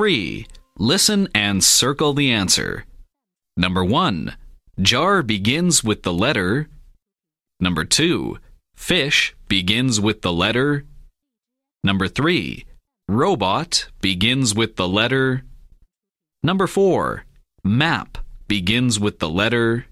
3. Listen and circle the answer. Number 1. Jar begins with the letter. Number 2. Fish begins with the letter. Number 3. Robot begins with the letter. Number 4. Map begins with the letter.